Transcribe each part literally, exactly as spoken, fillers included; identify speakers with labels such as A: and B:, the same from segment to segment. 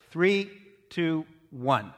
A: Three, two, one.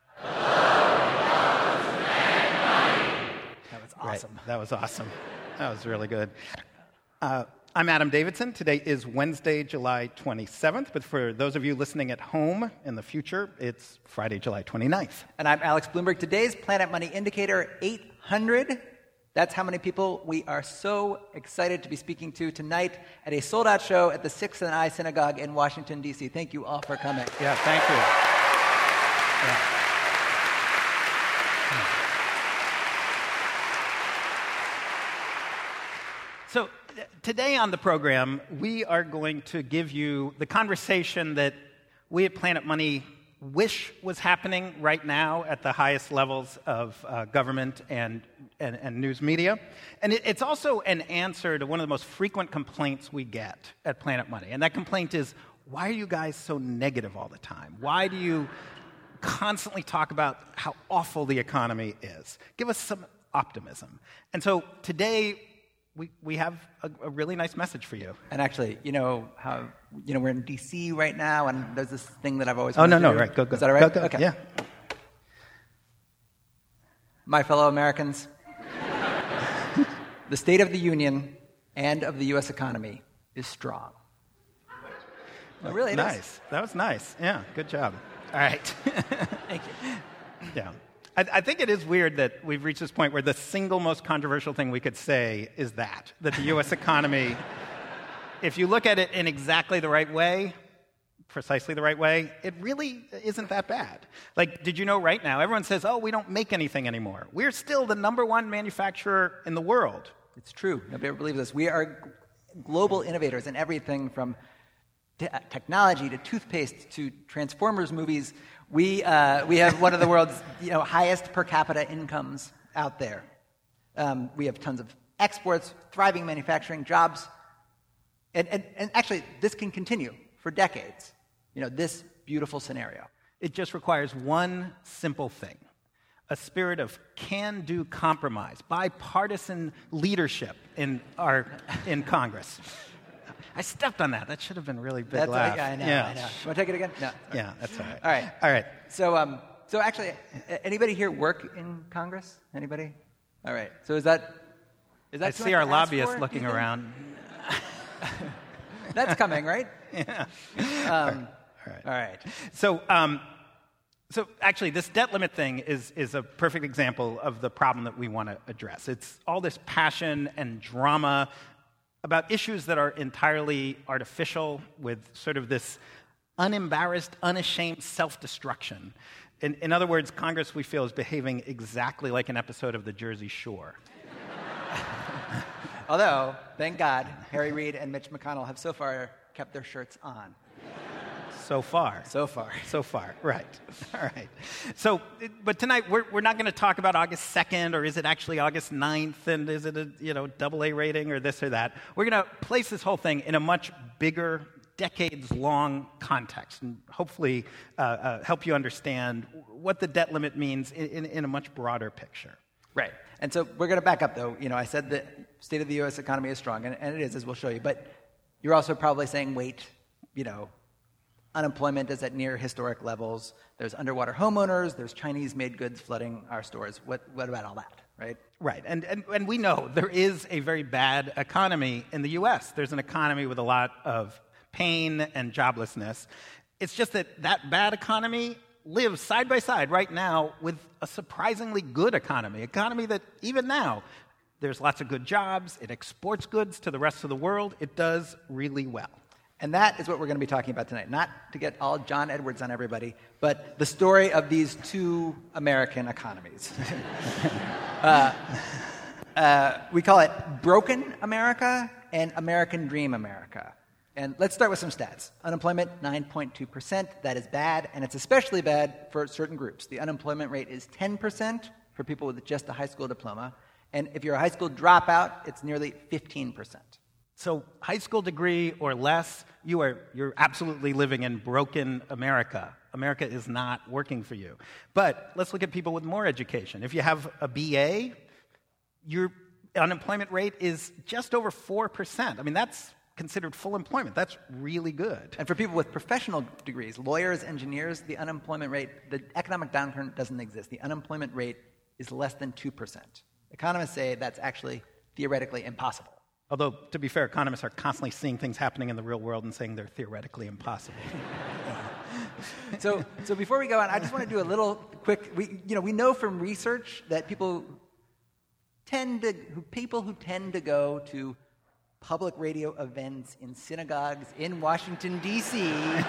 B: That was awesome.
A: Right. That was awesome. That was really good. Uh, I'm Adam Davidson. Today is Wednesday, July twenty-seventh, but for those of you listening at home in the future, it's Friday, July twenty-ninth.
B: And I'm Alex Bloomberg. Today's Planet Money indicator, eight hundred. That's how many people we are so excited to be speaking to tonight at a sold-out show at the Sixth and I Synagogue in Washington, D C Thank you all for coming.
A: Yeah, thank you. Yeah. So today on the program, we are going to give you the conversation that we at Planet Money wish was happening right now at the highest levels of uh, government and, and, and news media. And it, it's also an answer to one of the most frequent complaints we get at Planet Money. And that complaint is, why are you guys so negative all the time? Why do you constantly talk about how awful the economy is? Give us some optimism. And so today, We we have a, a really nice message for you.
B: And actually, you know how you know we're in D C right now, and there's this thing that I've always
A: oh
B: wanted
A: no
B: to
A: no
B: do.
A: right go go
B: is that all right?
A: Go, go.
B: Okay.
A: Yeah.
B: My fellow Americans, the State of the Union and of the U S economy is strong. Oh, really, it
A: nice.
B: Is.
A: That was nice. Yeah, good job. All right.
B: Thank you.
A: Yeah. I, I think it is weird that we've reached this point where the single most controversial thing we could say is that, that the U S economy, if you look at it in exactly the right way, precisely the right way, it really isn't that bad. Like, did you know right now, everyone says, oh, we don't make anything anymore. We're still the number one manufacturer in the world.
B: It's true. Nobody ever believes this. We are global innovators in everything from te- technology to toothpaste to Transformers movies. We uh, we have one of the world's you know highest per capita incomes out there. Um, we have tons of exports, thriving manufacturing jobs, and, and and actually this can continue for decades. You know this beautiful scenario.
A: It just requires one simple thing: a spirit of can-do compromise, bipartisan leadership in our in Congress. I stepped on that. That should have been really big
B: That's
A: laugh.
B: Right, yeah, I know.
A: Yeah.
B: I know. You want to take it again? No.
A: Yeah, that's all right.
B: All right.
A: All right.
B: So, um, so actually, anybody here work in Congress? Anybody? All right. So is that is that?
A: I
B: too
A: see
B: much
A: our
B: to ask
A: lobbyists
B: for,
A: looking
B: do you think?
A: around.
B: That's coming, right?
A: Yeah.
B: Um,
A: all right.
B: All right.
A: So, um, so actually, this debt limit thing is is a perfect example of the problem that we want to address. It's all this passion and drama about issues that are entirely artificial, with sort of this unembarrassed, unashamed self-destruction. In, in other words, Congress, we feel, is behaving exactly like an episode of The Jersey Shore.
B: Although, thank God, Harry Reid and Mitch McConnell have so far kept their shirts on.
A: So far.
B: So far.
A: So far, right. All right. So, but tonight, we're we're not going to talk about August second, or is it actually August ninth, and is it a, you know, double A rating, or this or that. We're going to place this whole thing in a much bigger, decades-long context, and hopefully uh, uh, help you understand what the debt limit means in, in, in a much broader picture.
B: Right. And so we're going to back up, though. You know, I said the state of the U S economy is strong, and, and it is, as we'll show you. But you're also probably saying, wait, you know, unemployment is at near historic levels. There's underwater homeowners. There's Chinese-made goods flooding our stores. What, what about all that, right?
A: Right. And, and, and we know there is a very bad economy in the U S. There's an economy with a lot of pain and joblessness. It's just that that bad economy lives side by side right now with a surprisingly good economy, economy that even now, there's lots of good jobs. It exports goods to the rest of the world. It does really well.
B: And that is what we're going to be talking about tonight. Not to get all John Edwards on everybody, but the story of these two American economies. uh, uh, we call it Broken America and American Dream America. And let's start with some stats. Unemployment, nine point two percent. That is bad, and it's especially bad for certain groups. The unemployment rate is ten percent for people with just a high school diploma. And if you're a high school dropout, it's nearly fifteen percent.
A: So high school degree or less, you are you're absolutely living in broken America. America is not working for you. But let's look at people with more education. If you have a B A, your unemployment rate is just over four percent. I mean, that's considered full employment. That's really good.
B: And for people with professional degrees, lawyers, engineers, the unemployment rate, the economic downturn doesn't exist. The unemployment rate is less than two percent. Economists say that's actually theoretically impossible.
A: Although, to be fair, economists are constantly seeing things happening in the real world and saying they're theoretically impossible.
B: so, so before we go on, I just want to do a little quick. We, you know, we know from research that people tend to, who, people who tend to go to public radio events in synagogues in Washington, D C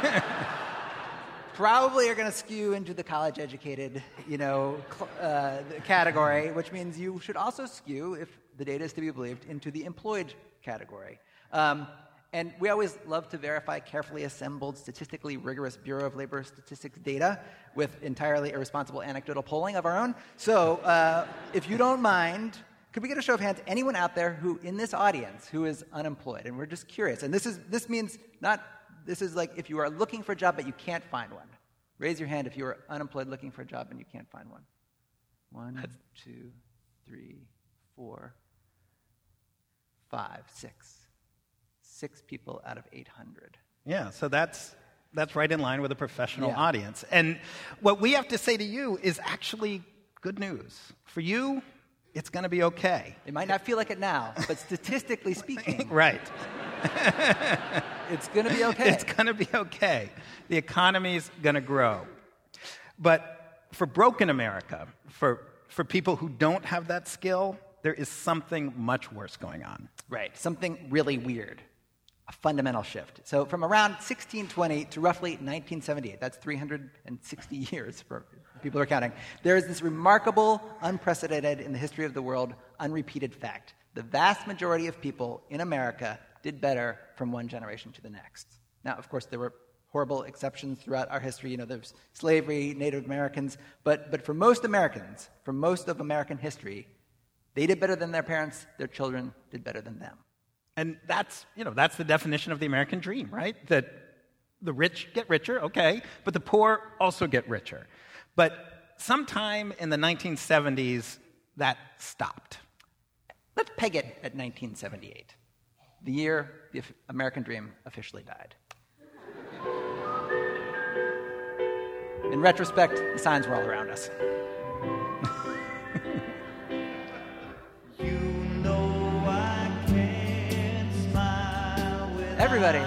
B: probably are going to skew into the college-educated, you know, uh, category, which means you should also skew, if the data is to be believed, into the employed category. Um, and we always love to verify carefully assembled, statistically rigorous Bureau of Labor Statistics data with entirely irresponsible anecdotal polling of our own. So uh, if you don't mind, could we get a show of hands? Anyone out there who, in this audience, who is unemployed? And we're just curious. And this is this means not, this is like if you are looking for a job but you can't find one. Raise your hand if you are unemployed looking for a job and you can't find one. One, That's... two, three, four, five, six. Six people out of eight hundred.
A: Yeah, so that's that's right in line with a professional
B: yeah.
A: audience. And what we have to say to you is actually good news. For you, it's going to be okay.
B: It might not feel like it now, but statistically speaking...
A: right.
B: It's going to be okay.
A: It's going to be okay. The economy's going to grow. But for broken America, for for people who don't have that skill, there is something much worse going on.
B: Right, something really weird. A fundamental shift. So from around sixteen twenty to roughly nineteen seventy-eight, that's three hundred sixty years for people who are counting, there is this remarkable, unprecedented in the history of the world, unrepeated fact. The vast majority of people in America did better from one generation to the next. Now, of course, there were horrible exceptions throughout our history. You know, there's slavery, Native Americans, but, but for most Americans, for most of American history, they did better than their parents, their children did better than them.
A: And that's, you know, that's the definition of the American dream, right? That the rich get richer, okay, but the poor also get richer. But sometime in the nineteen seventies, that stopped.
B: Let's peg it at nineteen seventy-eight, the year the American dream officially died. In retrospect, the signs were all around us. Everybody.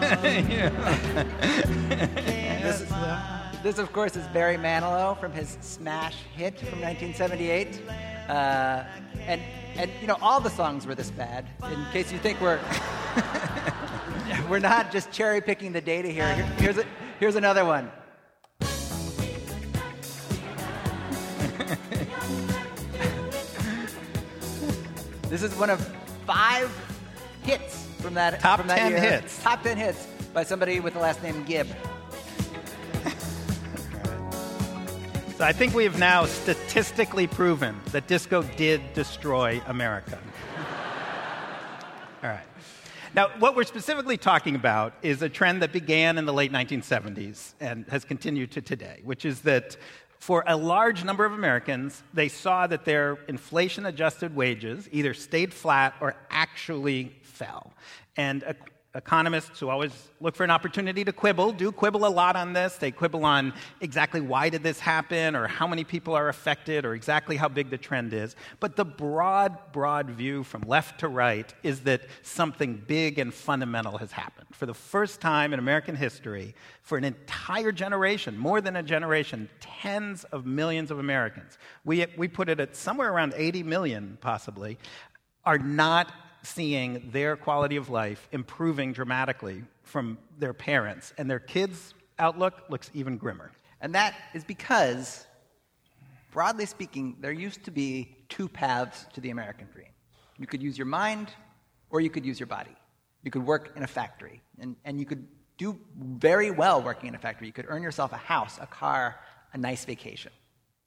B: this, is, this, of course, is Barry Manilow from his smash hit from nineteen seventy-eight. Uh, and, and, you know, all the songs were this bad. In case you think we're we're not just cherry-picking the data here. here here's, a, here's another one. This is one of five hits from that
A: top
B: from that
A: ten
B: year.
A: hits.
B: Top ten hits by somebody with the last name Gibb.
A: So I think we have now statistically proven that disco did destroy America. All right. Now, what we're specifically talking about is a trend that began in the late nineteen seventies and has continued to today, which is that for a large number of Americans, they saw that their inflation-adjusted wages either stayed flat or actually fell. And uh, economists who always look for an opportunity to quibble do quibble a lot on this. They quibble on exactly why did this happen or how many people are affected or exactly how big the trend is. But the broad, broad view from left to right is that something big and fundamental has happened. For the first time in American history, for an entire generation, more than a generation, tens of millions of Americans, we, we put it at somewhere around eighty million possibly, are not seeing their quality of life improving dramatically from their parents, and their kids' outlook looks even grimmer.
B: And that is because, broadly speaking, there used to be two paths to the American dream. You could use your mind, or you could use your body. You could work in a factory, and, and you could do very well working in a factory. You could earn yourself a house, a car, a nice vacation.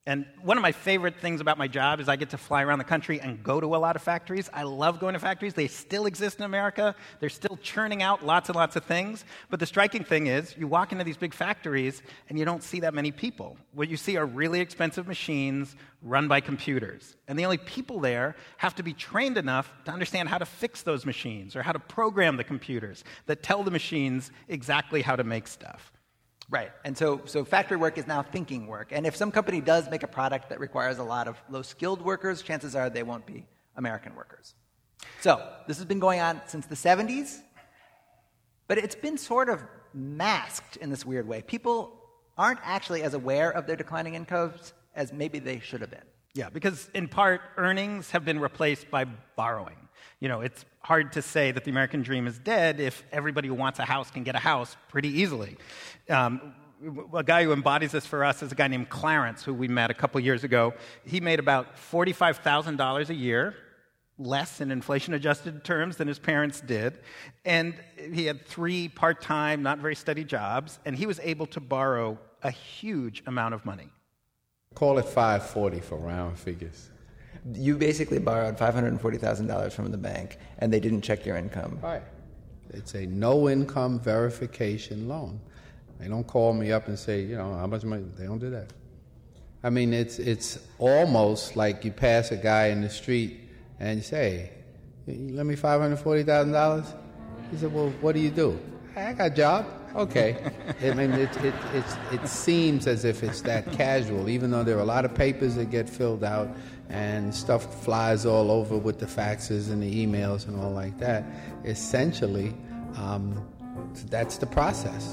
A: And one of my favorite things about my job is I get to fly around the country and go to a lot of factories. I love going to factories. They still exist in America. They're still churning out lots and lots of things. But the striking thing is you walk into these big factories and you don't see that many people. What you see are really expensive machines run by computers. And the only people there have to be trained enough to understand how to fix those machines or how to program the computers that tell the machines exactly how to make stuff.
B: Right. And so, so factory work is now thinking work. And if some company does make a product that requires a lot of low-skilled workers, chances are they won't be American workers. So this has been going on since the seventies, but it's been sort of masked in this weird way. People aren't actually as aware of their declining incomes as maybe they should have been.
A: Yeah, because in part, earnings have been replaced by borrowing. You know, it's hard to say that the American dream is dead if everybody who wants a house can get a house pretty easily. Um, a guy who embodies this for us is a guy named Clarence, who we met a couple years ago. He made about forty-five thousand dollars a year, less in inflation-adjusted terms than his parents did. And he had three part-time, not very steady jobs, and he was able to borrow a huge amount of money.
C: Call it five forty for round figures.
D: You basically borrowed five hundred forty thousand dollars from the bank, and they didn't check your income.
C: Right. It's a no-income verification loan. They don't call me up and say, you know, how much money. They don't do that. I mean, it's it's almost like you pass a guy in the street and you say, hey, you lend me five hundred forty thousand dollars? He said, well, what do you do? I got a job. Okay. I mean, it, it, it's, it seems as if it's that casual, even though there are a lot of papers that get filled out and stuff flies all over with the faxes and the emails and all like that. Essentially, um, that's the process.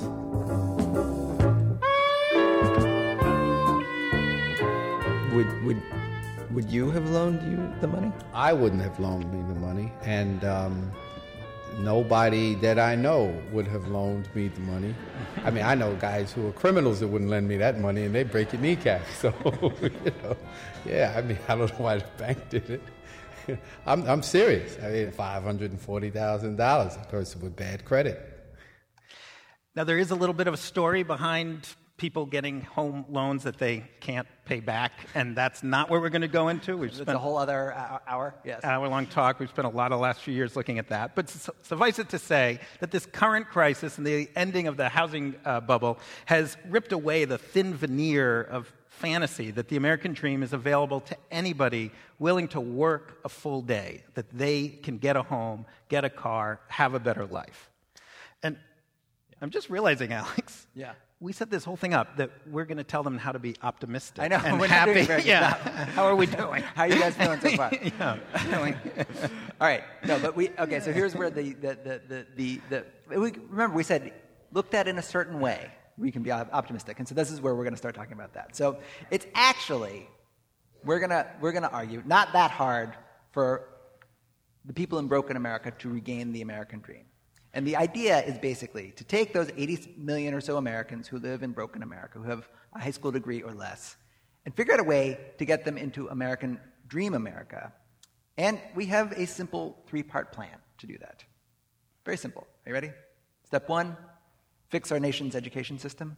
D: Would would would you have loaned you the money?
C: I wouldn't have loaned me the money, and um, nobody that I know would have loaned me the money. I mean, I know guys who are criminals that wouldn't lend me that money, and they break your kneecap. So, you know, yeah, I mean, I don't know why the bank did it. I'm, I'm serious. I mean, five hundred forty thousand dollars, a person with bad credit.
A: Now, there is a little bit of a story behind people getting home loans that they can't pay back, and that's not what we're going to go into. We've
B: It's
A: spent
B: a whole other hour. Yes.
A: hour-long talk. We've spent a lot of the last few years looking at that. But su- suffice it to say that this current crisis and the ending of the housing uh, bubble has ripped away the thin veneer of fantasy that the American dream is available to anybody willing to work a full day, that they can get a home, get a car, have a better life. And I'm just realizing, Alex,
B: Yeah.
A: we set this whole thing up that we're going to tell them how to be optimistic
B: I know.
A: and
B: We're not
A: happy.
B: doing very good
A: yeah.
B: now.
A: How are we doing?
B: How are you guys feeling so far?
A: yeah. Feeling-
B: All right. No, but we okay. So here's where the the the the, the, the we, remember we said looked at in a certain way we can be optimistic, and so this is where we're going to start talking about that. So it's actually we're gonna we're gonna argue not that hard for the people in broken America to regain the American dream. And the idea is basically to take those eighty million or so Americans who live in broken America, who have a high school degree or less, and figure out a way to get them into American Dream America. And we have a simple three-part plan to do that. Very simple. Are you ready? Step one, fix our nation's education system.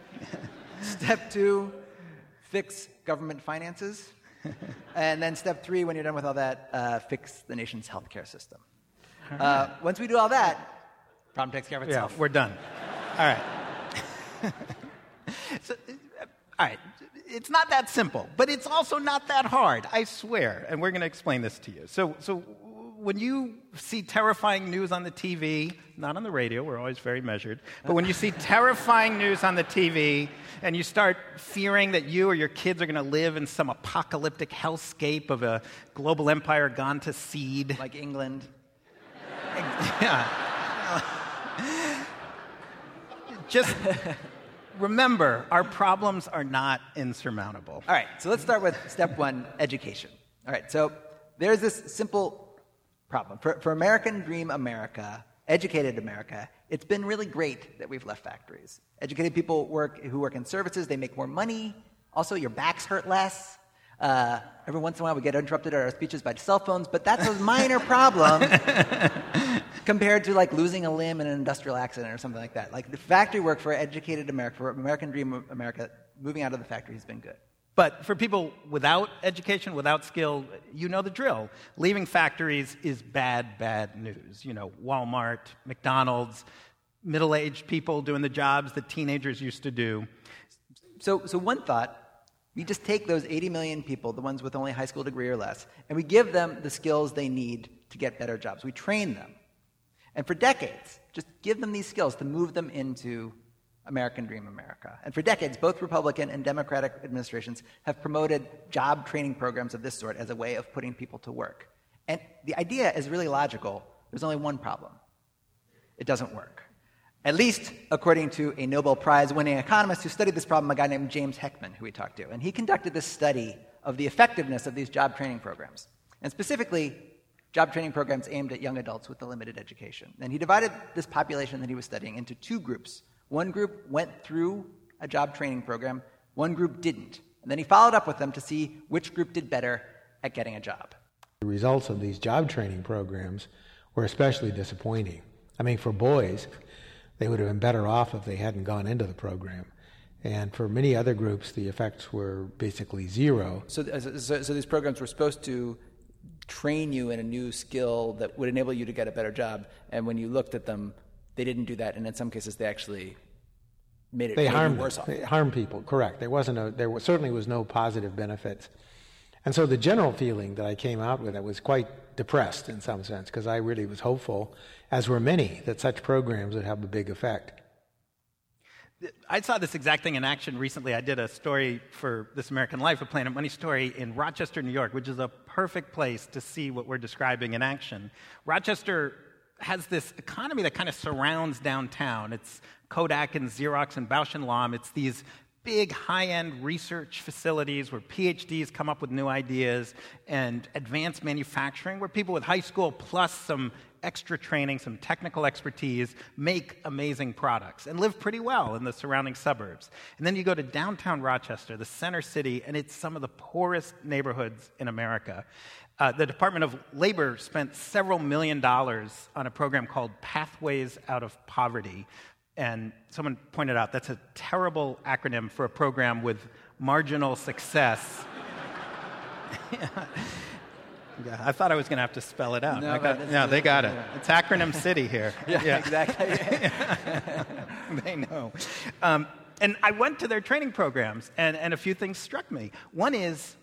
B: Step two, fix government finances. And then step three, when you're done with all that, uh, fix the nation's healthcare system. Uh, once we do all that, problem takes care of itself.
A: Yeah, we're done. All right. so, uh, all right. It's not that simple, but it's also not that hard, I swear. And we're going to explain this to you. So, so when you see terrifying news on the T V, not on the radio, we're always very measured, but when you see terrifying news on the T V and you start fearing that you or your kids are going to live in some apocalyptic hellscape of a global empire gone to seed.
B: Like England.
A: Yeah. Just remember, our problems are not insurmountable.
B: All right, so let's start with step one, education. All right, so there's this simple problem. For, for American Dream America, educated America, it's been really great that we've left factories. Educated people work who work in services, they make more money. Also, your backs hurt less. Uh, every once in a while, we get interrupted at our speeches by cell phones, but that's a minor problem compared to like losing a limb in an industrial accident or something like that. Like the factory work for educated America, for American Dream America, moving out of the factory has been good.
A: But for people without education, without skill, you know the drill. Leaving factories is bad, bad news. You know, Walmart, McDonald's, middle-aged people doing the jobs that teenagers used to do.
B: So, so one thought, we just take those eighty million people, the ones with only a high school degree or less, and we give them the skills they need to get better jobs. We train them. And for decades, just give them these skills to move them into American Dream America. And for decades, both Republican and Democratic administrations have promoted job training programs of this sort as a way of putting people to work. And the idea is really logical. There's only one problem. It doesn't work. At least according to a Nobel Prize-winning economist who studied this problem, a guy named James Heckman, who we talked to. And he conducted this study of the effectiveness of these job training programs, and specifically job training programs aimed at young adults with a limited education. And he divided this population that he was studying into two groups. One group went through a job training program, one group didn't. And then he followed up with them to see which group did better at getting a job.
E: The results of these job training programs were especially disappointing. I mean, for boys, they would have been better off if they hadn't gone into the program. And for many other groups, the effects were basically zero.
B: So, so, so these programs were supposed to train you in a new skill that would enable you to get a better job. And when you looked at them, they didn't do that. And in some cases, they actually made it
E: they harmed
B: worse off.
E: They harmed people, correct. There wasn't a, there was, certainly was no positive benefits. And so the general feeling that I came out with, I was quite depressed in some sense, because I really was hopeful, as were many, that such programs would have a big effect.
A: I saw this exact thing in action recently. I did a story for This American Life, a Planet Money story, in Rochester, New York, which is a perfect place to see what we're describing in action. Rochester has this economy that kind of surrounds downtown. It's Kodak and Xerox and Bausch and Lomb. It's these big high-end research facilities where PhDs come up with new ideas, and advanced manufacturing where people with high school plus some extra training, some technical expertise, make amazing products and live pretty well in the surrounding suburbs. And then you go to downtown Rochester, the center city, and it's some of the poorest neighborhoods in America. Uh, the Department of Labor spent several million dollars on a program called Pathways Out of Poverty. And someone pointed out that's a terrible acronym for a program with marginal success. yeah. yeah, I thought I was going to have to spell it out.
B: No,
A: got, no they got it. It's acronym city here.
B: yeah, yeah, exactly.
A: They know. Um, and I went to their training programs, and, and a few things struck me. One is,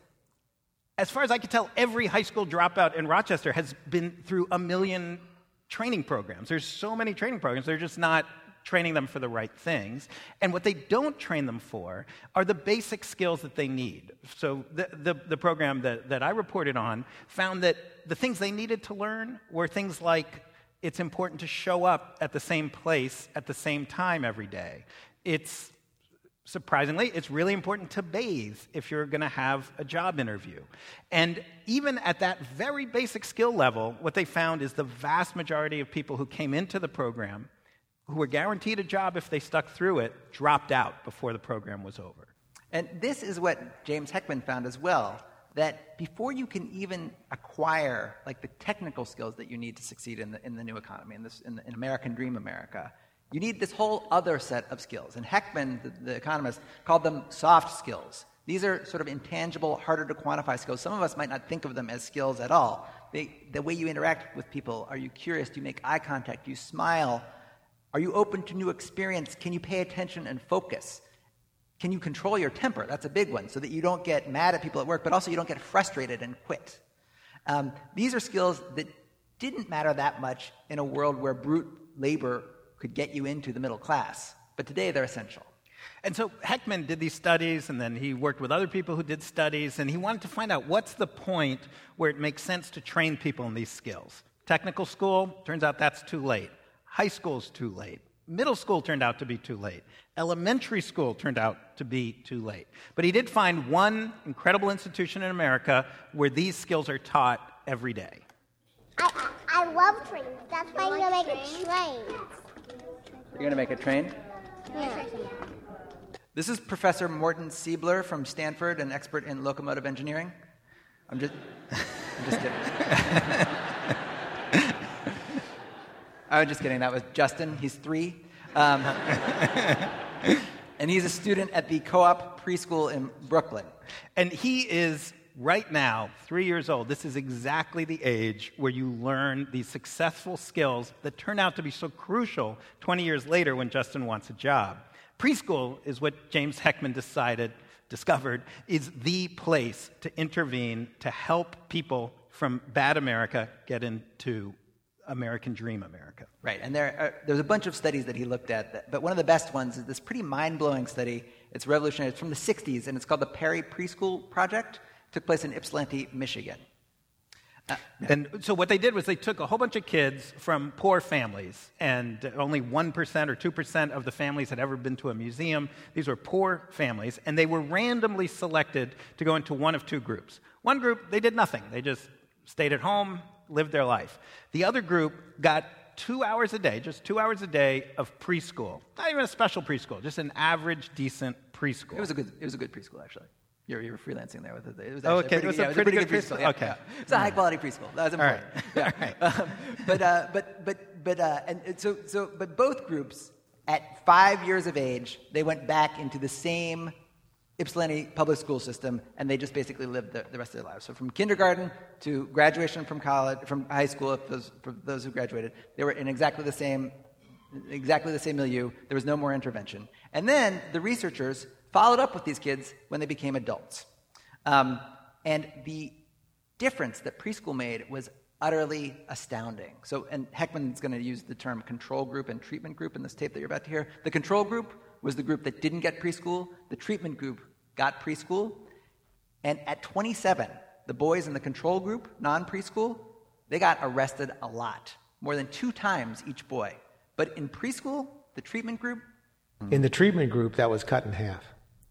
A: as far as I could tell, every high school dropout in Rochester has been through a million training programs. There's so many training programs. They're just not training them for the right things. And what they don't train them for are the basic skills that they need. So the, the, the program that, that I reported on found that the things they needed to learn were things like it's important to show up at the same place at the same time every day. It's Surprisingly, it's really important to bathe if you're going to have a job interview. And even at that very basic skill level, what they found is the vast majority of people who came into the program, who were guaranteed a job if they stuck through it, dropped out before the program was over.
B: And this is what James Heckman found as well, that before you can even acquire like the technical skills that you need to succeed in the, in the new economy, in, this, in, the, in American Dream America, you need this whole other set of skills. And Heckman, the, the economist, called them soft skills. These are sort of intangible, harder to quantify skills. Some of us might not think of them as skills at all. They, the way you interact with people, are you curious? Do you make eye contact? Do you smile? Are you open to new experience? Can you pay attention and focus? Can you control your temper? That's a big one, so that you don't get mad at people at work, but also you don't get frustrated and quit. Um, these are skills that didn't matter that much in a world where brute labor could get you into the middle class. But today, they're essential.
A: And so Heckman did these studies, and then he worked with other people who did studies, and he wanted to find out what's the point where it makes sense to train people in these skills. Technical school, turns out that's too late. High school's too late. Middle school turned out to be too late. Elementary school turned out to be too late. But he did find one incredible institution in America where these skills are taught every day.
F: I, I love trains. That's why I'm going to make a train.
B: You're going to make a train?
F: Yeah.
B: This is Professor Morton Siebler from Stanford, an expert in locomotive engineering. I'm just, I'm just kidding. I was just kidding. That was Justin. He's three. Um, And he's a student at the Co-op Preschool in Brooklyn.
A: And he is, right now, three years old. This is exactly the age where you learn these successful skills that turn out to be so crucial twenty years later when Justin wants a job. Preschool is what James Heckman decided, discovered, is the place to intervene to help people from bad America get into American Dream America.
B: Right, and there are, there's a bunch of studies that he looked at, that, but one of the best ones is this pretty mind-blowing study. It's revolutionary. It's from the sixties, and it's called the Perry Preschool Project. It took place in Ypsilanti, Michigan. Uh,
A: and so what they did was they took a whole bunch of kids from poor families, and only one percent or two percent of the families had ever been to a museum. These were poor families, and they were randomly selected to go into one of two groups. One group, they did nothing. They just stayed at home, lived their life. The other group got two hours a day, just two hours a day of preschool. Not even a special preschool, just an average, decent preschool.
B: It was a good, it was a good preschool, actually. You were, you were freelancing there with it. It was
A: oh,
B: okay.
A: Okay.
B: Pretty,
A: It was
B: yeah,
A: a
B: it was
A: pretty,
B: a pretty
A: good,
B: good preschool.
A: preschool.
B: Yeah,
A: Okay.
B: Yeah. It's a high-quality preschool. That was important.
A: All right.
B: Yeah.
A: All right.
B: Um, but, uh, but, but, but, uh, and and so, so, but both groups, at five years of age, they went back into the same Ypsilanti public school system, and they just basically lived the, the rest of their lives. So from kindergarten to graduation from college, from high school, if those, for those who graduated, they were in exactly the same, exactly the same milieu. There was no more intervention. And then the researchers followed up with these kids when they became adults. Um, and the difference that preschool made was utterly astounding. So, and Heckman's going to use the term control group and treatment group in this tape that you're about to hear. The control group was the group that didn't get preschool. The treatment group got preschool. And at twenty-seven, the boys in the control group, non-preschool, they got arrested a lot, more than two times each boy. But in preschool, the treatment group?
E: In the treatment group, that was cut in half.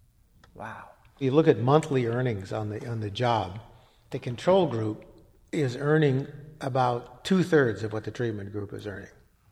B: Wow.
E: You look at monthly earnings on the on the job, the control group is earning about two-thirds of what the treatment group is earning.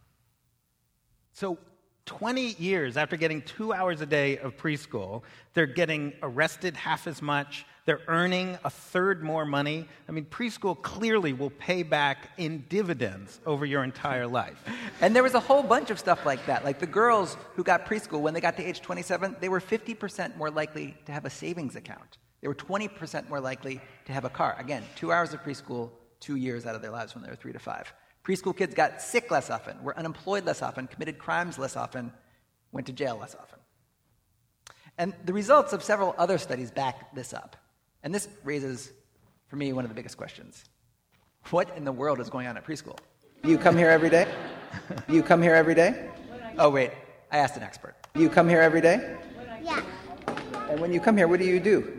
A: So twenty years after getting two hours a day of preschool, they're getting arrested half as much. They're earning a third more money. I mean, preschool clearly will pay back in dividends over your entire life.
B: And there was a whole bunch of stuff like that. Like the girls who got preschool, when they got to age twenty-seven, they were fifty percent more likely to have a savings account. They were twenty percent more likely to have a car. Again, two hours of preschool, two years out of their lives when they were three to five. Preschool kids got sick less often, were unemployed less often, committed crimes less often, went to jail less often. And the results of several other studies back this up. And this raises, for me, one of the biggest questions. What in the world is going on at preschool?
D: Do you come here every day? Do you come here every day?
B: Oh, wait, I asked an expert.
D: Do you come here every day?
F: Yeah.
D: And when you come here, what do you do?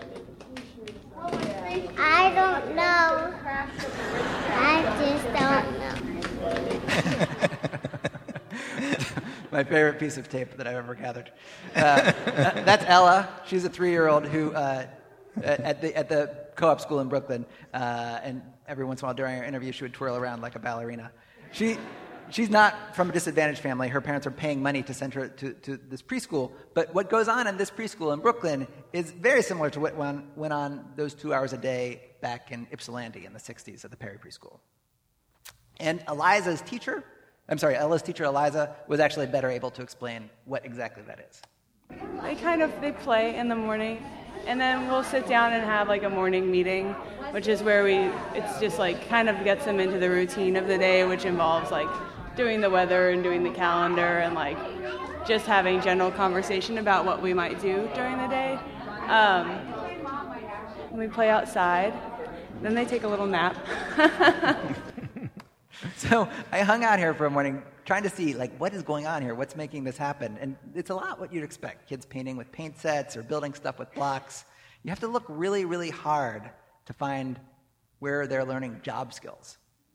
F: I don't know. I just don't know.
B: My favorite piece of tape that I've ever gathered. Uh, that's Ella. She's a three-year-old who, uh, at the at the co-op school in Brooklyn, uh, and every once in a while during our interview, she would twirl around like a ballerina. She she's not from a disadvantaged family. Her parents are paying money to send her to, to this preschool. But what goes on in this preschool in Brooklyn is very similar to what went, went on those two hours a day back in Ypsilanti in the sixties at the Perry Preschool. And Eliza's teacher, I'm sorry, Ella's teacher, Eliza, was actually better able to explain what exactly that is.
G: They kind of, they play in the morning, and then we'll sit down and have like a morning meeting, which is where we, it's just like kind of gets them into the routine of the day, which involves like doing the weather and doing the calendar and like just having general conversation about what we might do during the day. Um, and we play outside, then they take a little nap.
B: So I hung out here for a morning trying to see, like, what is going on here? What's making this happen? And it's a lot what you'd expect. Kids painting with paint sets or building stuff with blocks. You have to look really, really hard to find where they're learning job skills.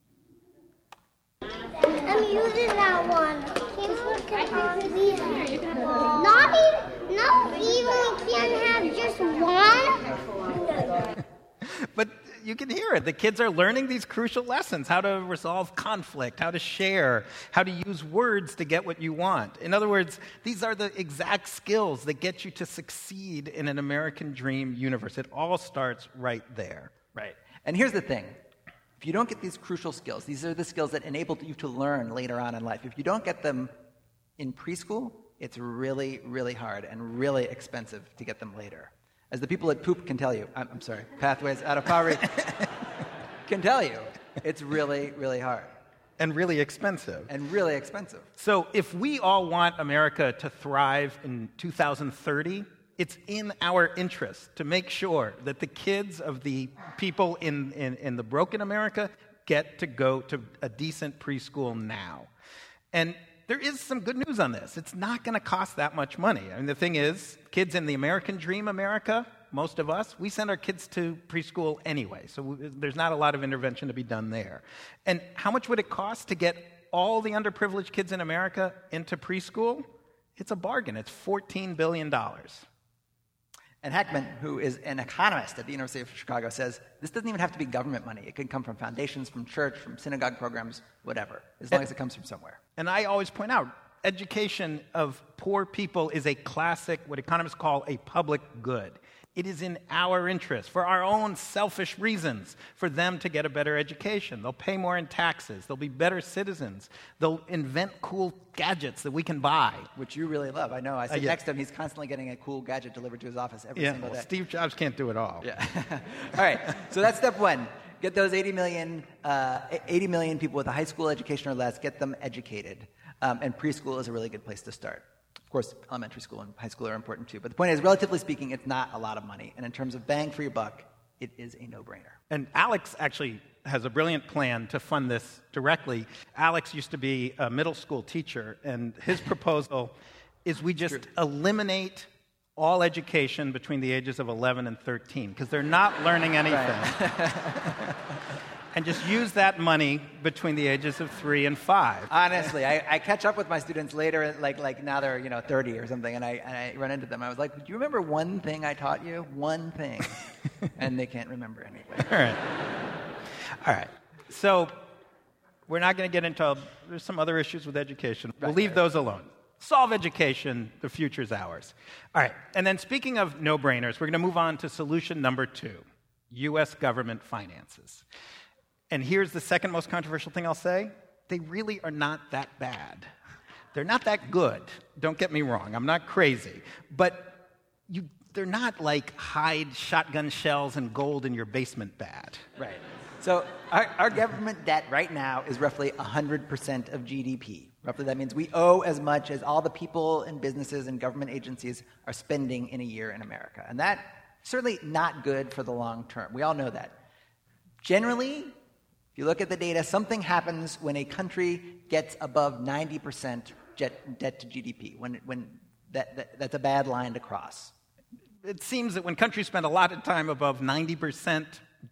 F: I'm using that one. Not even, not even we can't have just one.
A: But you can hear it. The kids are learning these crucial lessons, how to resolve conflict, how to share, how to use words to get what you want. In other words, these are the exact skills that get you to succeed in an American dream universe. It all starts right there.
B: Right. And here's the thing. If you don't get these crucial skills, these are the skills that enable you to learn later on in life. If you don't get them in preschool, it's really, really hard and really expensive to get them later. As the people at Poop can tell you, I'm, I'm sorry, Pathways Out of Poverty can tell you, it's really, really hard.
A: And really expensive.
B: And really expensive.
A: So if we all want America to thrive in two thousand thirty, it's in our interest to make sure that the kids of the people in, in, in the broken America get to go to a decent preschool now. And there is some good news on this. It's not going to cost that much money. I mean, the thing is, kids in the American dream America, most of us, we send our kids to preschool anyway. So we, there's not a lot of intervention to be done there. And how much would it cost to get all the underprivileged kids in America into preschool? It's a bargain. It's fourteen billion dollars.
B: And Heckman, who is an economist at the University of Chicago, says this doesn't even have to be government money. It can come from foundations, from church, from synagogue programs, whatever, as long
A: and,
B: as it comes from somewhere.
A: And I always point out, education of poor people is a classic, what economists call a public good. It is in our interest, for our own selfish reasons, for them to get a better education. They'll pay more in taxes. They'll be better citizens. They'll invent cool gadgets that we can buy.
B: Which you really love. I know. I sit
A: uh, yeah.
B: next to him. He's constantly getting a cool gadget delivered to his office every
A: yeah,
B: single
A: well,
B: day.
A: Steve Jobs can't do it all.
B: Yeah. All right. So that's step one. Get those eighty million, uh, eighty million people with a high school education or less, get them educated. Um, and preschool is a really good place to start. Of course, elementary school and high school are important too. But the point is, relatively speaking, it's not a lot of money. And in terms of bang for your buck, it is a no-brainer.
A: And Alex actually has a brilliant plan to fund this directly. Alex used to be a middle school teacher, and his proposal is we just eliminate all education between the ages of eleven and thirteen, because they're not learning anything. Right. And just use that money between the ages of three and five.
B: Honestly, I, I catch up with my students later, like like now they're you know thirty or something, and I and I run into them. I was like, "Do you remember one thing I taught you? One thing," and they can't remember anything.
A: All right, all right. So we're not going to get into. There's some other issues with education. We'll
B: Right,
A: leave
B: right.
A: those alone. Solve education. The future's ours. All right. And then speaking of no-brainers, we're going to move on to solution number two: U S government finances. And here's the second most controversial thing I'll say. They really are not that bad. They're not that good. Don't get me wrong. I'm not crazy. But you, they're not like hide shotgun shells and gold in your basement bad.
B: Right. So our, our government debt right now is roughly one hundred percent of G D P. Roughly that means we owe as much as all the people and businesses and government agencies are spending in a year in America. And that's certainly not good for the long term. We all know that. Generally, if you look at the data, something happens when a country gets above ninety percent jet, debt to G D P, when, when that, that, that's a bad line to cross.
A: It seems that when countries spend a lot of time above ninety percent,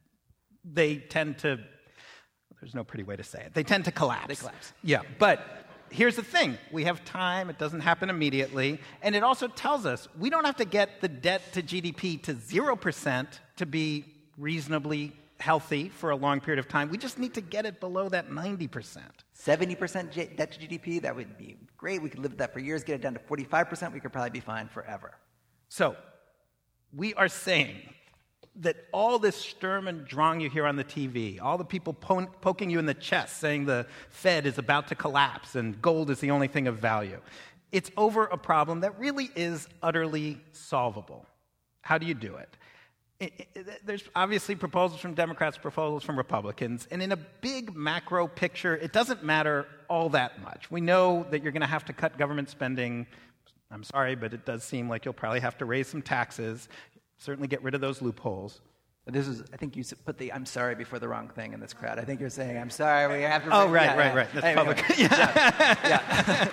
A: they tend to, there's no pretty way to say it, they tend to collapse.
B: They collapse.
A: Yeah, but here's the thing. We have time. It doesn't happen immediately. And it also tells us we don't have to get the debt to G D P to zero percent to be reasonably healthy for a long period of time. We just need to get it below that ninety percent.
B: seventy percent J- debt to G D P, that would be great. We could live with that for years. Get it down to forty-five percent, we could probably be fine forever.
A: So we are saying that all this Sturm und Drang you hear on the T V, all the people po- poking you in the chest saying the Fed is about to collapse and gold is the only thing of value, it's over a problem that really is utterly solvable. How do you do it? It, it, there's obviously proposals from Democrats, proposals from Republicans, and in a big macro picture, it doesn't matter all that much. We know that you're going to have to cut government spending. I'm sorry, but it does seem like you'll probably have to raise some taxes, certainly get rid of those loopholes.
B: This is, I think you put the "I'm sorry" before the wrong thing in this crowd. I think you're saying, "I'm sorry, we have to."
A: Oh, right,
B: yeah,
A: right,
B: yeah.
A: right. That's
B: Anyway,
A: public.
B: Yeah.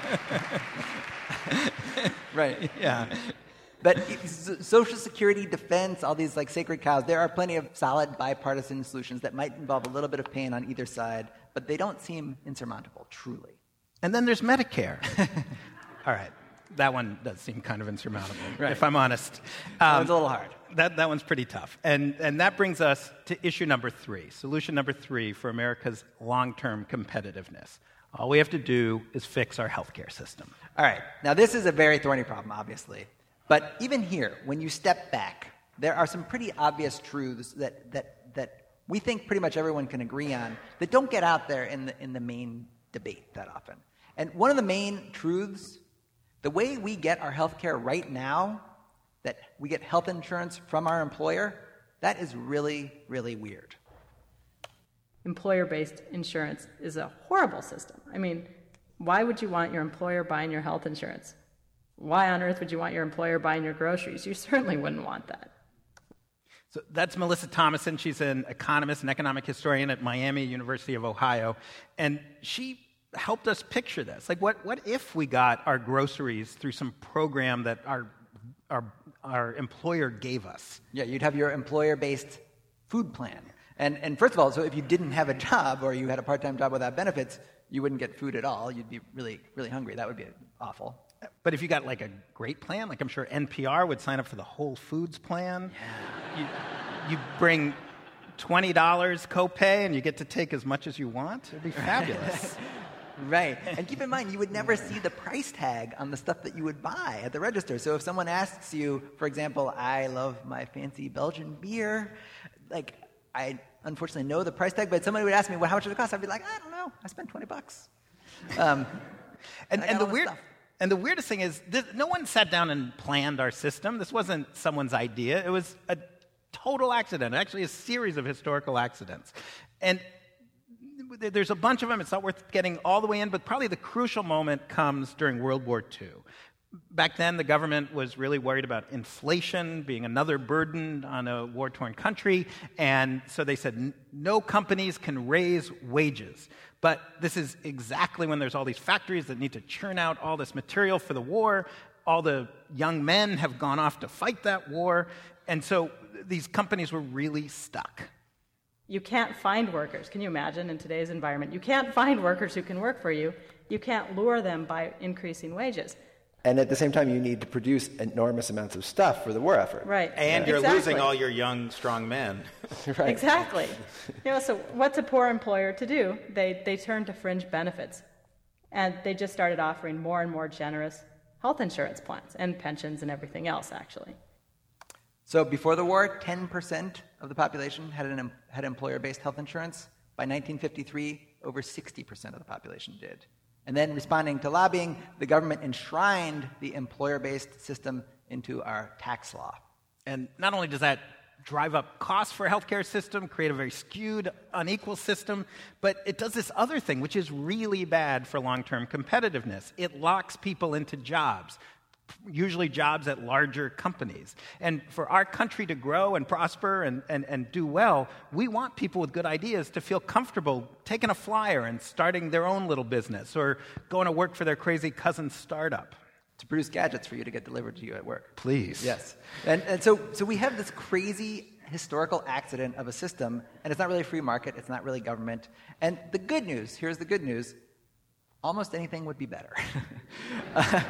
B: yeah. Right.
A: Yeah.
B: But Social Security, defense, all these like sacred cows, there are plenty of solid bipartisan solutions that might involve a little bit of pain on either side, but they don't seem insurmountable, truly.
A: And then there's Medicare. All right. That one does seem kind of insurmountable,
B: Right.
A: if I'm honest.
B: That
A: Um,
B: one's a little hard.
A: That, that one's pretty tough. And, and that brings us to issue number three, solution number three for America's long-term competitiveness. All we have to do is fix our healthcare system.
B: All right. Now, this is a very thorny problem, obviously. But even here, when you step back, there are some pretty obvious truths that, that, that we think pretty much everyone can agree on that don't get out there in the, in the main debate that often. And one of the main truths The way we get our health care right now, that we get health insurance from our employer, that is really, really weird.
H: Employer-based insurance is a horrible system. I mean, why would you want your employer buying your health insurance? Why on earth would you want your employer buying your groceries? You certainly wouldn't want that.
A: So that's Melissa Thomason. She's an economist and economic historian at Miami University of Ohio. And she helped us picture this. Like, what, what if we got our groceries through some program that our, our, our employer gave us?
B: Yeah, you'd have your employer-based food plan. And, and first of all, so if you didn't have a job or you had a part-time job without benefits, you wouldn't get food at all. You'd be really, really hungry. That would be awful.
A: But if you got like a great plan, like I'm sure N P R would sign up for the Whole Foods plan. Yeah. You, you bring twenty dollars copay and you get to take as much as you want. It'd be fabulous.
B: Right. And keep in mind, you would never see the price tag on the stuff that you would buy at the register. So if someone asks you, for example, I love my fancy Belgian beer, like, I unfortunately know the price tag, but somebody would ask me, well, how much does it cost? I'd be like, I don't know. I spent twenty bucks. Um,
A: and,
B: and,
A: and the weird...
B: Stuff.
A: And the weirdest thing is, this, no one sat down and planned our system. This wasn't someone's idea. It was a total accident, actually a series of historical accidents. And there's a bunch of them. It's not worth getting all the way in, but probably the crucial moment comes during World War Two. Back then, the government was really worried about inflation being another burden on a war-torn country, and so they said no companies can raise wages. But this is exactly when there's all these factories that need to churn out all this material for the war. All the young men have gone off to fight that war, and so these companies were really stuck.
H: You can't find workers. Can you imagine in today's environment? You can't find workers who can work for you. You can't lure them by increasing wages.
D: And at the same time, you need to produce enormous amounts of stuff for the war effort.
H: Right.
I: And
H: yeah.
I: you're
H: exactly.
I: losing all your young, strong men.
D: Right.
H: Exactly. You know, so what's a poor employer to do? They they turn to fringe benefits. And they just started offering more and more generous health insurance plans and pensions and everything else, actually.
B: So before the war, ten percent of the population had an had employer-based health insurance. By nineteen fifty-three, over sixty percent of the population did. And then, responding to lobbying, the government enshrined the employer-based system into our tax law.
A: And not only does that drive up costs for a healthcare system, create a very skewed, unequal system, but it does this other thing, which is really bad for long-term competitiveness. It locks people into jobs, usually jobs at larger companies. And for our country to grow and prosper and, and, and do well, we want people with good ideas to feel comfortable taking a flyer and starting their own little business or going to work for their crazy cousin's startup.
B: To produce gadgets for you to get delivered to you at work.
A: Please.
B: Yes. And, and so, so we have this crazy historical accident of a system, and it's not really a free market, it's not really government. And the good news, here's the good news, almost anything would be better. uh,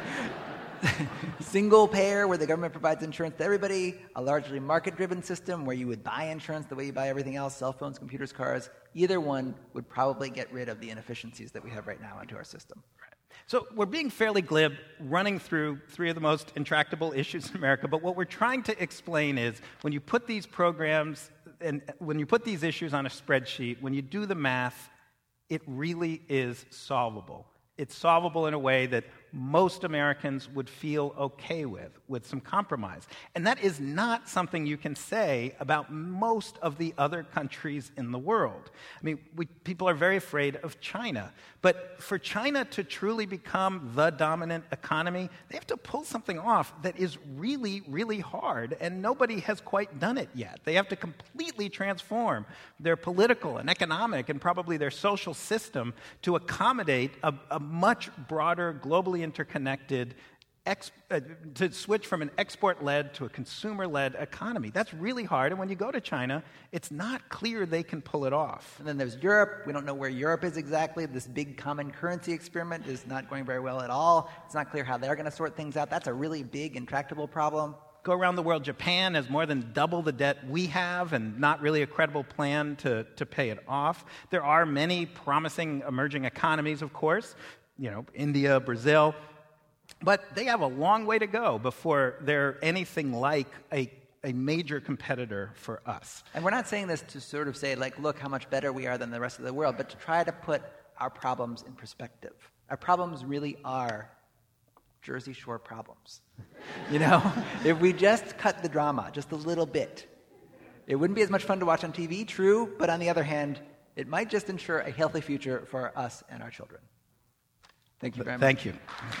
B: Single payer, where the government provides insurance to everybody, a largely market-driven system where you would buy insurance the way you buy everything else, cell phones, computers, cars, either one would probably get rid of the inefficiencies that we have right now into our system.
A: Right. So we're being fairly glib, running through three of the most intractable issues in America, but what we're trying to explain is when you put these programs and when you put these issues on a spreadsheet, when you do the math, it really is solvable. It's solvable in a way that most Americans would feel okay with, with some compromise. And that is not something you can say about most of the other countries in the world. I mean, we, people are very afraid of China. But for China to truly become the dominant economy, they have to pull something off that is really, really hard, and nobody has quite done it yet. They have to completely transform their political and economic and probably their social system to accommodate a, a much broader, globally interconnected, ex- uh, to switch from an export-led to a consumer-led economy. That's really hard, and when you go to China, it's not clear they can pull it off.
B: And then there's Europe. We don't know where Europe is exactly. This big common currency experiment is not going very well at all. It's not clear how they're going to sort things out. That's a really big, intractable problem.
A: Go around the world, Japan has more than double the debt we have and not really a credible plan to, to pay it off. There are many promising emerging economies, of course, you know, India, Brazil, but they have a long way to go before they're anything like a, a major competitor for us.
B: And we're not saying this to sort of say, like, look how much better we are than the rest of the world, but to try to put our problems in perspective. Our problems really are Jersey Shore problems. You know, if we just cut the drama just a little bit, it wouldn't be as much fun to watch on T V, true, but on the other hand, it might just ensure a healthy future for us and our children. Thank you very much.
A: Thank you.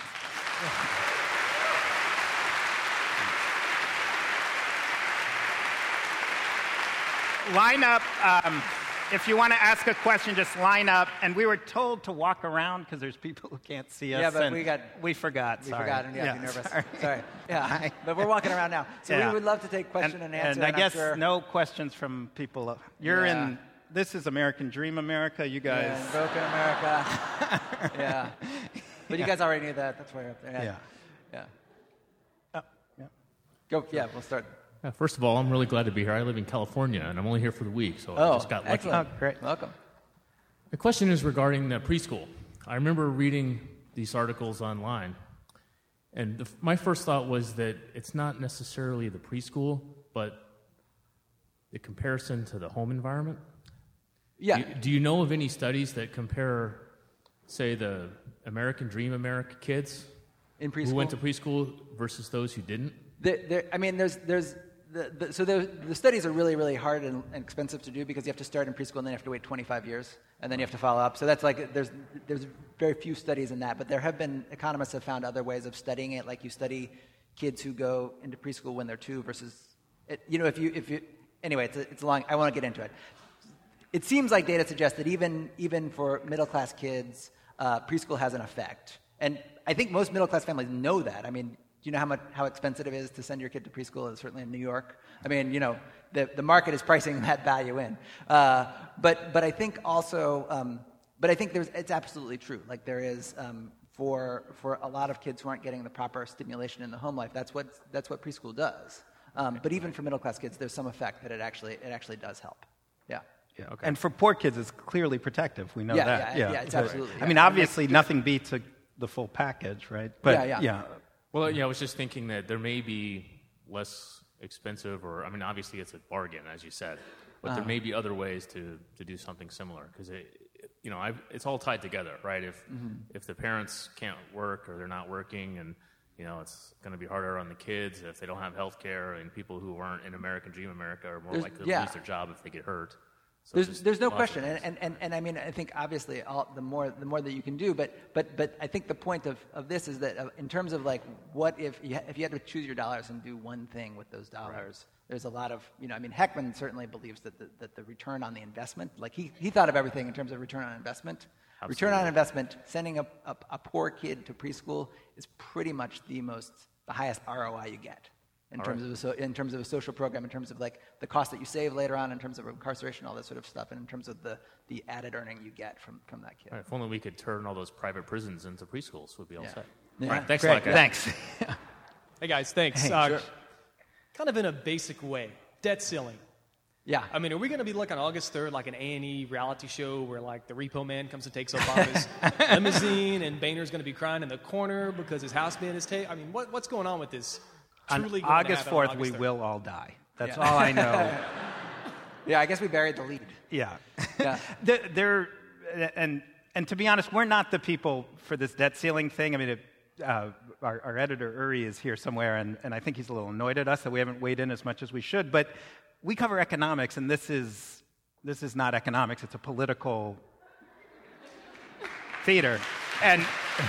A: Line up. Um, if you want to ask a question, just line up. And we were told to walk around because there's people who can't see us.
B: Yeah, but
A: and
B: we got
A: we forgot.
B: We
A: sorry.
B: forgot, and yeah,
A: yeah
B: be nervous.
A: Sorry.
B: sorry. Yeah, but we're walking around now, so
A: yeah.
B: we would love to take question
A: and,
B: and, answer.
A: And I
B: and
A: guess
B: sure
A: no questions from people. You're
B: yeah.
A: in. This is American Dream America. You guys.
B: Yeah, Broken America. yeah, but you guys already knew that. That's why you're up there. Yeah.
A: Yeah.
B: Yeah.
A: Oh, yeah.
B: Go. Yeah, we'll start.
J: Yeah, first of all, I'm really glad to be here. I live in California, and I'm only here for the week, so
B: oh,
J: I just got lucky.
B: excellent.
A: Oh, great.
B: Welcome.
J: The question is regarding uh, preschool. I remember reading these articles online, and the, my first thought was that it's not necessarily the preschool, but the comparison to the home environment.
B: Yeah.
J: Do you, do you know of any studies that compare, say, the American Dream America kids
B: in preschool
J: who went to preschool versus those who didn't?
B: There, there, I mean, there's, there's, the, the, so the, the studies are really, really hard and, and expensive to do because you have to start in preschool and then you have to wait twenty-five years and then you have to follow up. So that's like, there's, there's very few studies in that, but there have been, economists have found other ways of studying it, like you study kids who go into preschool when they're two versus, it, you know, if you, if you, anyway, it's a, it's a long, I won't get into it. It seems like data suggests that even, even for middle-class kids, uh, preschool has an effect. And I think most middle-class families know that. I mean, do you know how much how expensive it is to send your kid to preschool? It's certainly in New York. I mean, you know, the the market is pricing that value in. Uh, but but I think also, um, but I think there's it's absolutely true. Like there is um, for for a lot of kids who aren't getting the proper stimulation in the home life. That's what that's what preschool does. Um, but even for middle class kids, there's some effect that it actually it actually does help. Yeah.
A: Yeah, okay. And for poor kids, it's clearly protective. We know
B: yeah,
A: that.
B: Yeah, yeah, yeah it's
A: but,
B: absolutely.
A: I
B: yeah.
A: mean, obviously, nothing beats a, the full package, right? But
B: yeah, yeah.
A: yeah.
J: Well, yeah, I was just thinking that there may be less expensive, or I mean, obviously it's a bargain, as you said, but uh-huh. there may be other ways to, to do something similar because it, it, you know, I've, it's all tied together, right? If mm-hmm. if the parents can't work or they're not working, and you know, it's going to be harder on the kids if they don't have health care, and people who aren't in American Dream America are more
B: there's,
J: likely to
B: yeah.
J: lose their job if they get hurt. So
B: there's there's no question, and, and, and, and I mean I think obviously all, the more the more that you can do, but but but I think the point of, of this is that uh, in terms of like what if you ha- if you had to choose your dollars and do one thing with those dollars, right. There's a lot of you know I mean Heckman certainly believes that the, that the return on the investment, like he he thought of everything in terms of return on investment. Absolutely. Return on investment, sending a, a a poor kid to preschool is pretty much the most the highest R O I you get. In all terms right. of a so, in terms of a social program, in terms of like the cost that you save later on, in terms of incarceration, all that sort of stuff, and in terms of the, the added earning you get from, from that kid.
J: Right, if only we could turn all those private prisons into preschools, we'd be all
B: yeah.
J: set.
B: Yeah.
J: All right, thanks
A: Great.
J: a lot, guys.
A: Thanks.
K: Hey guys, thanks.
A: Hey,
K: uh,
A: sure.
K: Kind of in a basic way, debt ceiling.
B: Yeah.
K: I mean, are we going to be like on August third, like an A and E reality show where like the repo man comes and takes Obama's limousine, and Boehner's going to be crying in the corner because his house man is taken? I mean, what, what's going on with this?
A: On August fourth, we will all die. That's yeah. all I know.
B: Yeah, I guess we buried the lead.
A: Yeah.
B: yeah.
A: There, and and to be honest, we're not the people for this debt ceiling thing. I mean, it, uh, our, our editor Uri is here somewhere, and, and I think he's a little annoyed at us that we haven't weighed in as much as we should. But we cover economics, and this is this is not economics. It's a political theater, and.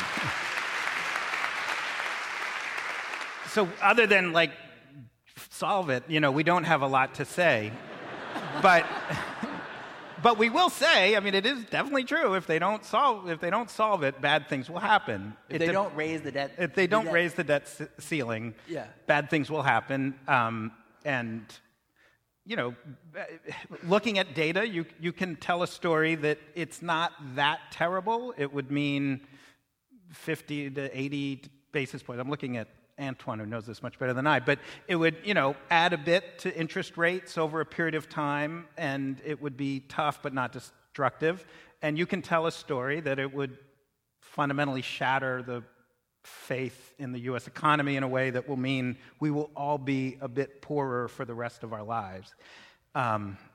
A: So other than, like, solve it, you know, we don't have a lot to say. But but we will say, I mean, it is definitely true. If they don't solve if they don't solve it, bad things will happen.
B: If
A: it
B: they
A: de-
B: don't raise the debt
A: If they don't
B: debt.
A: raise the debt c- ceiling,
B: yeah.
A: bad things will happen. Um, and, you know, looking at data, you you can tell a story that it's not that terrible. It would mean fifty to eighty basis points. I'm looking at Antoine, who knows this much better than I, but it would, you know, add a bit to interest rates over a period of time, and it would be tough but not destructive. And you can tell a story that it would fundamentally shatter the faith in the U S economy in a way that will mean we will all be a bit poorer for the rest of our lives. Um,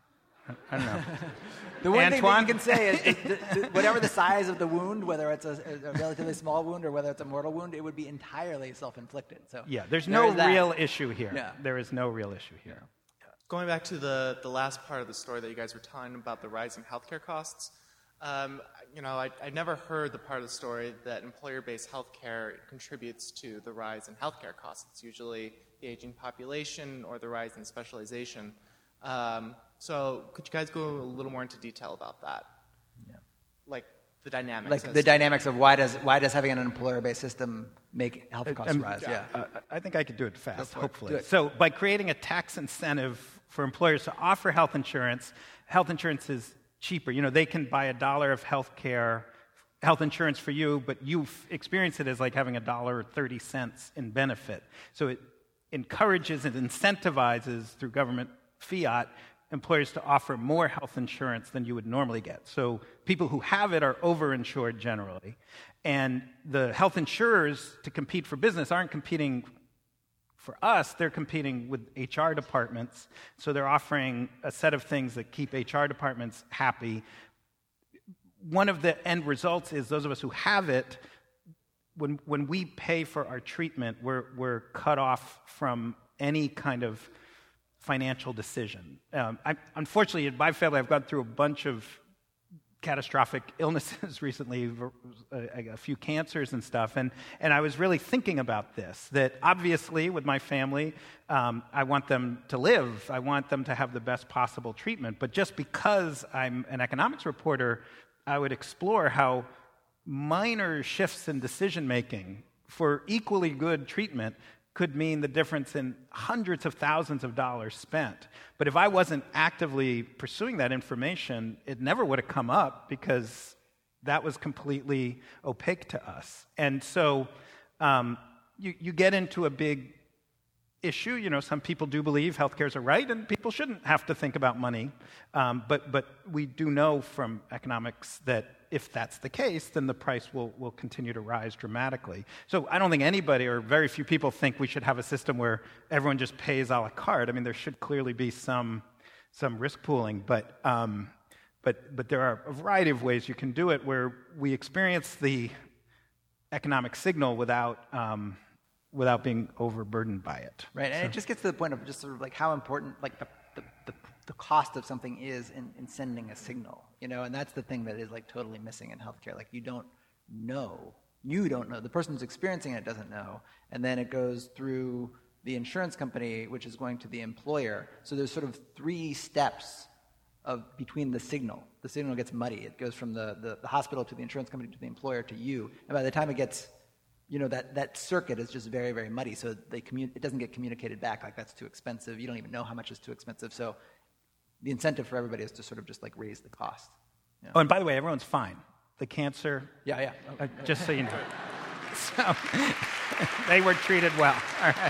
A: I don't know.
B: The one thing that
A: Antoine?
B: you can say is that the, the, whatever the size of the wound, whether it's a, a relatively small wound or whether it's a mortal wound, it would be entirely self-inflicted. So
A: Yeah, there's
B: there
A: no
B: is that.
A: real issue here.
B: Yeah.
A: There is no real issue here.
L: Going back to the, the last part of the story that you guys were telling about the rising healthcare costs, um, you know, I, I never heard the part of the story that employer-based healthcare contributes to the rise in healthcare costs. It's usually the aging population or the rise in specialization. Um, so could you guys go a little more into detail about that?
B: Yeah.
L: Like the dynamics.
B: Like
L: as
B: the
L: to-
B: dynamics of why does why does having an employer-based system make health costs
A: Um,
B: rise? Yeah.
A: Uh, I think I could do it fast,
B: for it.
A: hopefully.
B: Do it.
A: So by creating a tax incentive for employers to offer health insurance, health insurance is cheaper. You know, they can buy a dollar of health care, health insurance for you, but you f- experience it as like having a dollar or thirty cents in benefit. So it encourages and incentivizes through government fiat employers to offer more health insurance than you would normally get. So people who have it are overinsured generally. And the health insurers, to compete for business, aren't competing for us, they're competing with H R departments. So they're offering a set of things that keep H R departments happy. One of the end results is those of us who have it, when when we pay for our treatment, we're we're cut off from any kind of financial decision. Um, I, unfortunately, in my family, I've gone through a bunch of catastrophic illnesses recently, a, a few cancers and stuff, and, and I was really thinking about this, that obviously with my family, um, I want them to live, I want them to have the best possible treatment, but just because I'm an economics reporter, I would explore how minor shifts in decision-making for equally good treatment could mean the difference in hundreds of thousands of dollars spent. But if I wasn't actively pursuing that information, it never would have come up because that was completely opaque to us. And so um, you, you get into a big issue. You know, some people do believe healthcare is a right, and people shouldn't have to think about money. Um, but but we do know from economics that if that's the case, then the price will, will continue to rise dramatically. So I don't think anybody or very few people think we should have a system where everyone just pays a la carte. I mean, there should clearly be some some risk pooling, but um, but but there are a variety of ways you can do it where we experience the economic signal without um, without being overburdened by it.
B: Right, and
A: So-
B: it just gets to the point of just sort of like how important like the the, the, the cost of something is in, in sending a signal, you know, and that's the thing that is like totally missing in healthcare. Like you don't know, you don't know, the person who's experiencing it doesn't know, and then it goes through the insurance company, which is going to the employer. So there's sort of three steps of between the signal. The signal gets muddy. It goes from the, the, the hospital to the insurance company to the employer to you, and by the time it gets, you know, that, that circuit is just very, very muddy. So they commu- it doesn't get communicated back like that's too expensive. You don't even know how much is too expensive. So the incentive for everybody is to sort of just like raise the cost. You know?
A: Oh, and by the way, everyone's fine. The cancer,
B: Yeah, yeah.
A: uh, just so you know. So they were treated well. All right.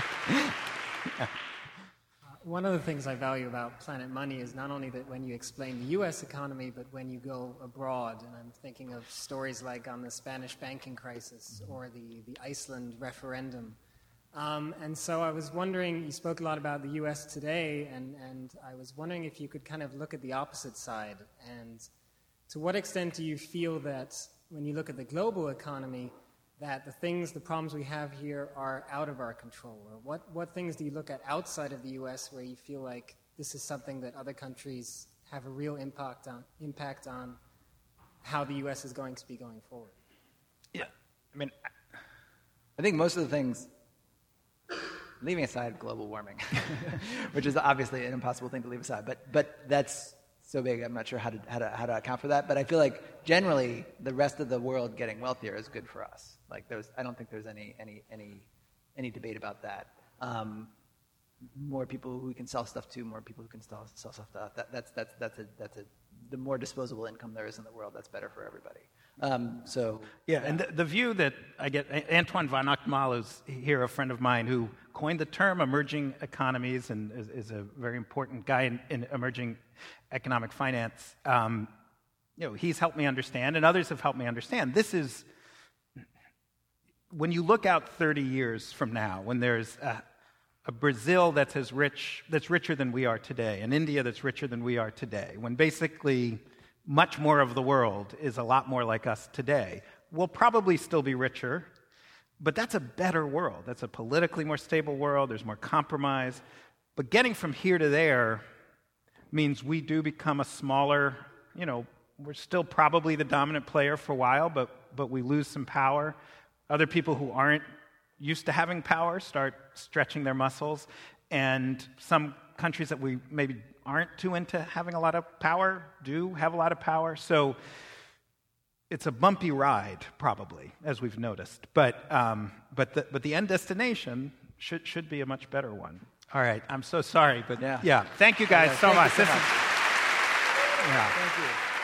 M: One of the things I value about Planet Money is not only that when you explain the U S economy, but when you go abroad. And I'm thinking of stories like on the Spanish banking crisis or the, the Iceland referendum. Um, and so I was wondering, you spoke a lot about the U S today, and, and I was wondering if you could kind of look at the opposite side. And to what extent do you feel that when you look at the global economy, that the things, the problems we have here are out of our control? Or what, what things do you look at outside of the U S where you feel like this is something that other countries have a real impact on, impact on how the U S is going to be going forward?
B: Yeah. I mean, I think most of the things, leaving aside global warming, which is obviously an impossible thing to leave aside, but but that's so big, I'm not sure how to, how to how to account for that. But I feel like generally the rest of the world getting wealthier is good for us. Like there's, I don't think there's any any any any debate about that. Um, more people who we can sell stuff to, more people who can sell, sell stuff to. That, that's that's that's a that's a the more disposable income there is in the world, that's better for everybody. Um, so
A: Yeah, and the, the view that I get, Antoine von Ochtmal is here, a friend of mine who coined the term emerging economies and is, is a very important guy in, in emerging economic finance. Um, you know, he's helped me understand, and others have helped me understand. This is, when you look out thirty years from now, when there's a, a Brazil that's as rich, that's richer than we are today, an India that's richer than we are today, when basically much more of the world is a lot more like us today. We'll probably still be richer, but that's a better world. That's a politically more stable world. There's more compromise. But getting from here to there means we do become a smaller, you know, we're still probably the dominant player for a while, but but we lose some power. Other people who aren't used to having power start stretching their muscles, and some countries that we maybe aren't too into having a lot of power do have a lot of power. So it's a bumpy ride, probably, as we've noticed. But um, but the but the end destination should should be a much better one. All right, I'm so sorry, but yeah, yeah. Thank you guys
B: yeah,
A: so
B: thank
A: much.
B: You so
A: this
B: much.
A: Is, yeah.
B: Thank you.